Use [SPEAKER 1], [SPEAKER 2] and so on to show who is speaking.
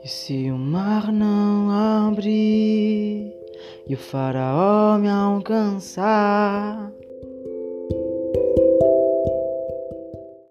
[SPEAKER 1] E se o mar não abrir e o faraó me alcançar,